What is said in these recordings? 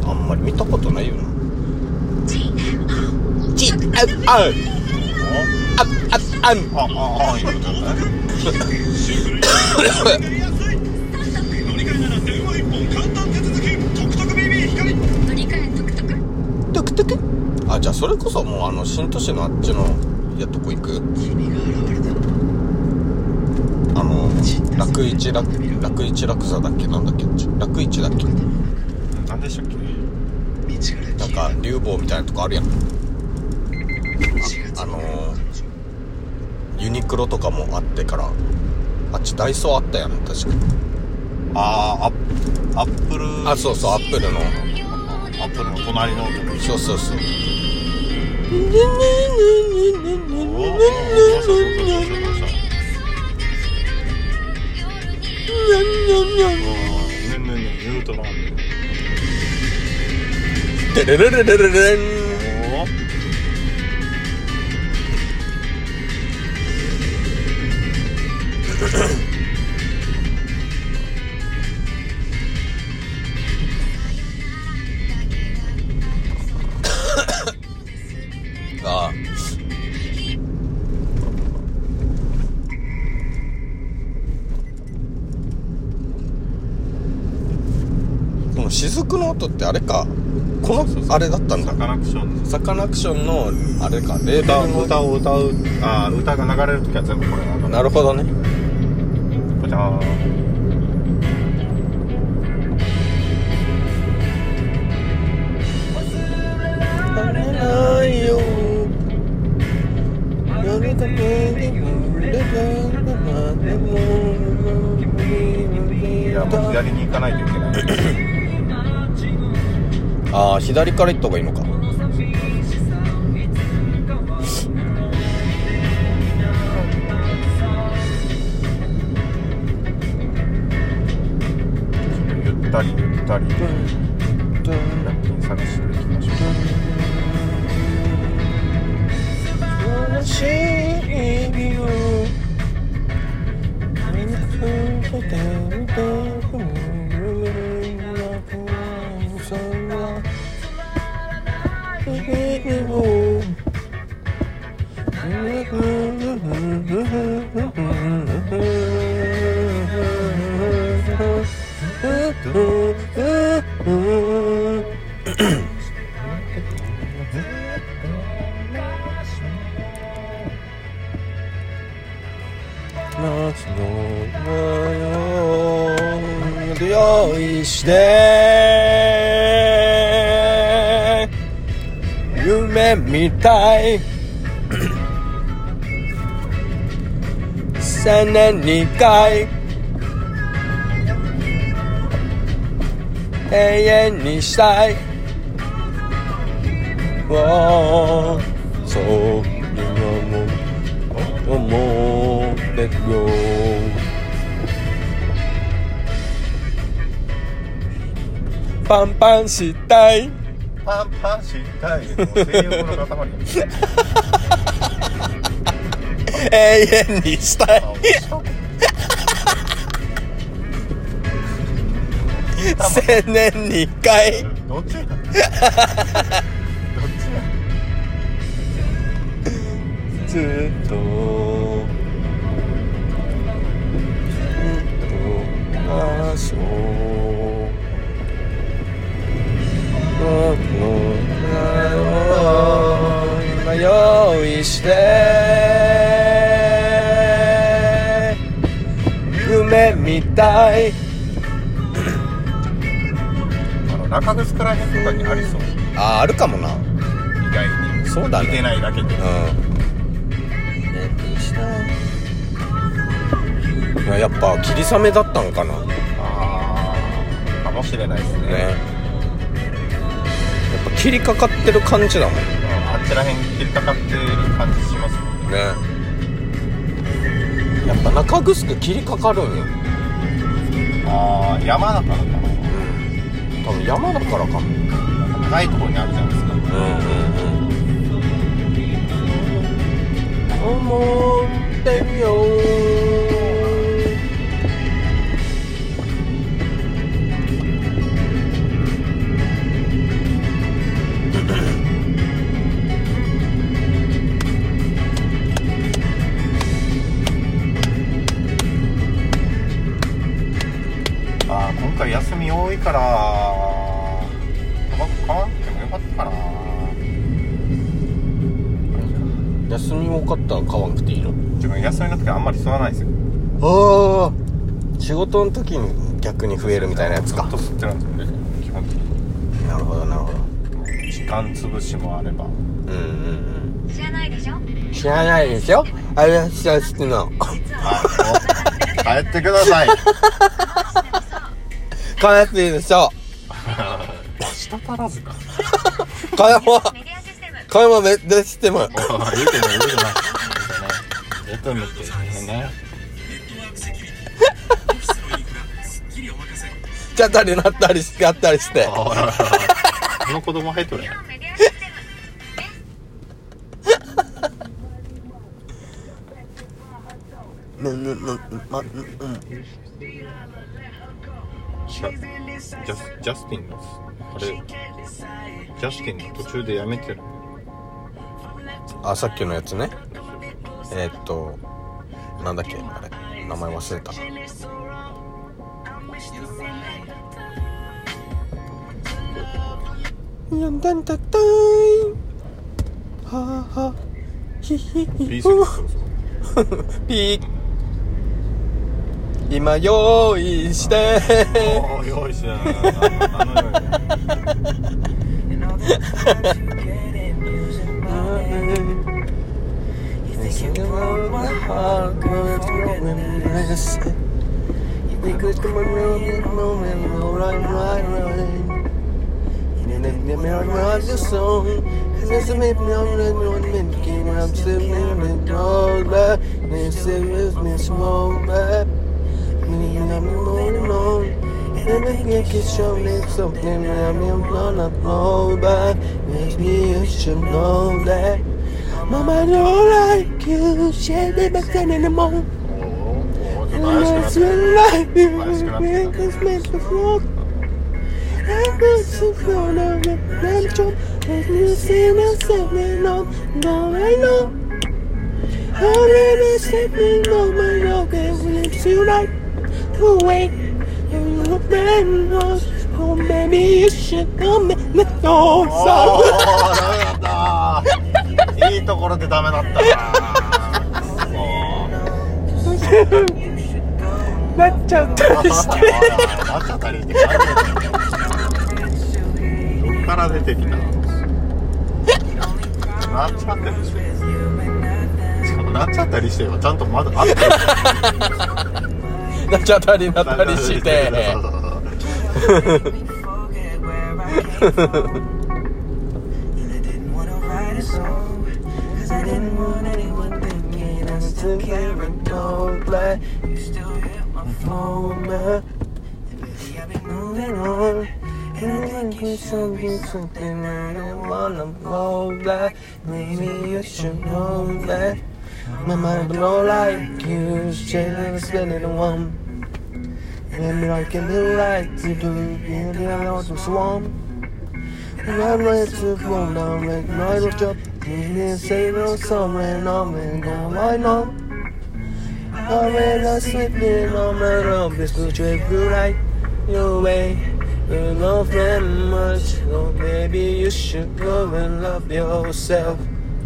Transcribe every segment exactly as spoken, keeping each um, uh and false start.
あんまり見たことないよな。チッああああああああ言うとねトクトク。あ、じゃあそれこそもうあの新都市のあっちのやとこ行く。あの楽一楽楽一楽座だっけ、なんだっけ、楽一だっけ、 なんでしたっけ。 なんか竜坊みたいなとこあるやん。 あ, あのー、ユニクロとかもあってから、あっちダイソーあったやん確か。 ああ、アップル。 あ、そうそう、アップルのアップルの隣の。 そうそうそう。テレレレレレレン。ああ、この雫の音ってあれか、このあれだったんだ。 サカナクション。 サカナクションのあれか、レーベルの歌を歌う、あ、歌が流れるときは全部これなんだ。 なるほどね。 じゃあないよ。 いや、もう左に行かないといけない。 ああ、左から行った方がいいのか。 ゆったりゆったりラッキン探していきましょう。 しいよ用意して夢みたい千年にかい永遠にしたい。わーそう今も思ってるよ。パンパンしたい。 パンパンしたい。もう性欲の塊。 永遠にしたい。千年に一回。 どっちや。どっちや。 ずっとずっとましょう。用意して夢みたい。 あの中城らへんとかにありそう。 あ、あるかもな。 意外に。 そうだね。 見てないだけで。 うん。いや、やっぱ霧雨だったんかな。 ああ、かもしれないですね。 ね。やっぱ霧かかってる感じだもん。 あちらへん切りかかってる感じしますもんね。やっぱ中城霧かかるんよ。 ああ、山だからかな。うん、 多分山だからかも。 高いところにあるじゃないですか。 うんうんうん。思ってみよう。 からタバコ買わなくてもよかったかな。 休み多かったら買わなくていいの？ 自分休みの時あんまり吸わないですよ。 ああ、仕事の時に逆に増えるみたいなやつか。 ずっと吸ってるんですよね、基本的に。 なるほどなるほど。 時間潰しもあれば。 うんうんうん。 知らないでしょ？ 知らないでしょ？あれは知らないの。 帰ってください。 帰っていいでしょ。 下足らずか。 買い物メディアシステム。 買い物メディアシステム。 言うてない言うてない。言うてないってね。 ちゃったりなったりしてやったりして。 この子供入っとるやん。 メディアシステム。 ぬぬぬまうんうん。 ジャジャスジャスティンのあれジャスティンの途中でやめてる。 あ、さっきのやつね。えー、っとなんだっけあれ名前忘れた。やんだんだったいははひひひビースピー今用意しておー用意してないあの This is me, I'm making I'm sitting in the back. This is me, small back. Me, I'm moving on. And I can show me something. I'm gonna blow back. Makes me, you should know that. Mama don't like you. Shit, they back then in the morning. And I still like you. Make us make the floor. I'm not so proud of it. I'm trying. Let me see myself and know, now I know. Already sleeping on my dog and lips you like to wait. You look very much, oh baby you should come in the door. おーダメだったいいところでダメだったなっちゃったりしてなっちゃったりしてどっから出てきたのなっちゃったりしてしかもなっちゃったりしてはちゃんとまだあってなっちゃったりなったりしてSomething, something I don't wanna blow back. Maybe you should know that. My mind blow like you. Shit, spinning the one. Maybe I can be right to do. Maybe I know to swarm. I'm ready to blow down, make my job. Didn't say no somewhere, no man, go right now. I'm ready to sleep in on my room. This will trip you right your way. You love them much, so maybe you should go and love yourself.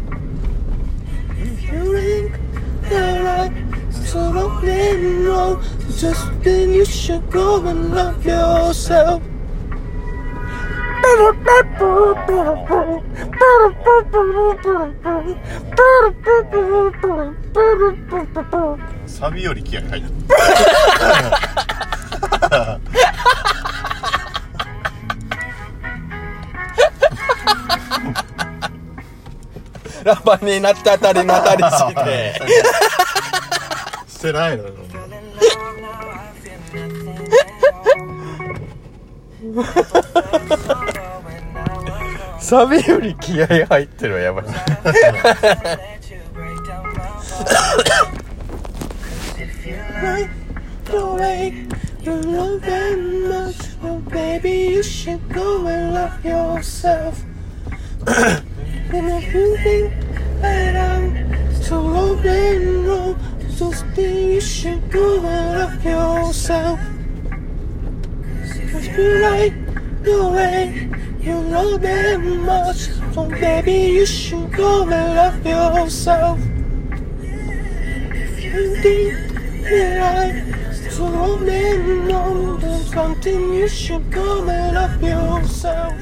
If you think that I'm so lonely, no, just then you should go and love yourself. サビより気合入るラッパーになっちゃったりなったりしてしてないのよサビより気合入ってるわやばいYou love them much, oh baby, you should go and love yourself. And if you think that I'm so old and wrong, just think you should go and love yourself. Cause You like the way you know that much, so baby you should go and love yourself. If you think that I so long and know there's something you should go and love yourself.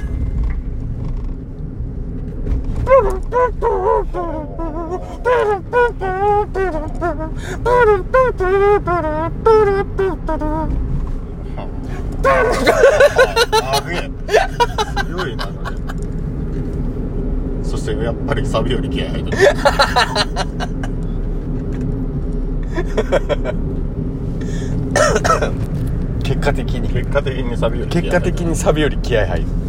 あげ強いなそれ。そしてやっぱりサビより気合入ってる。 結果的に結果的にサビより気合入ってる。 結果的にサビより気合入る。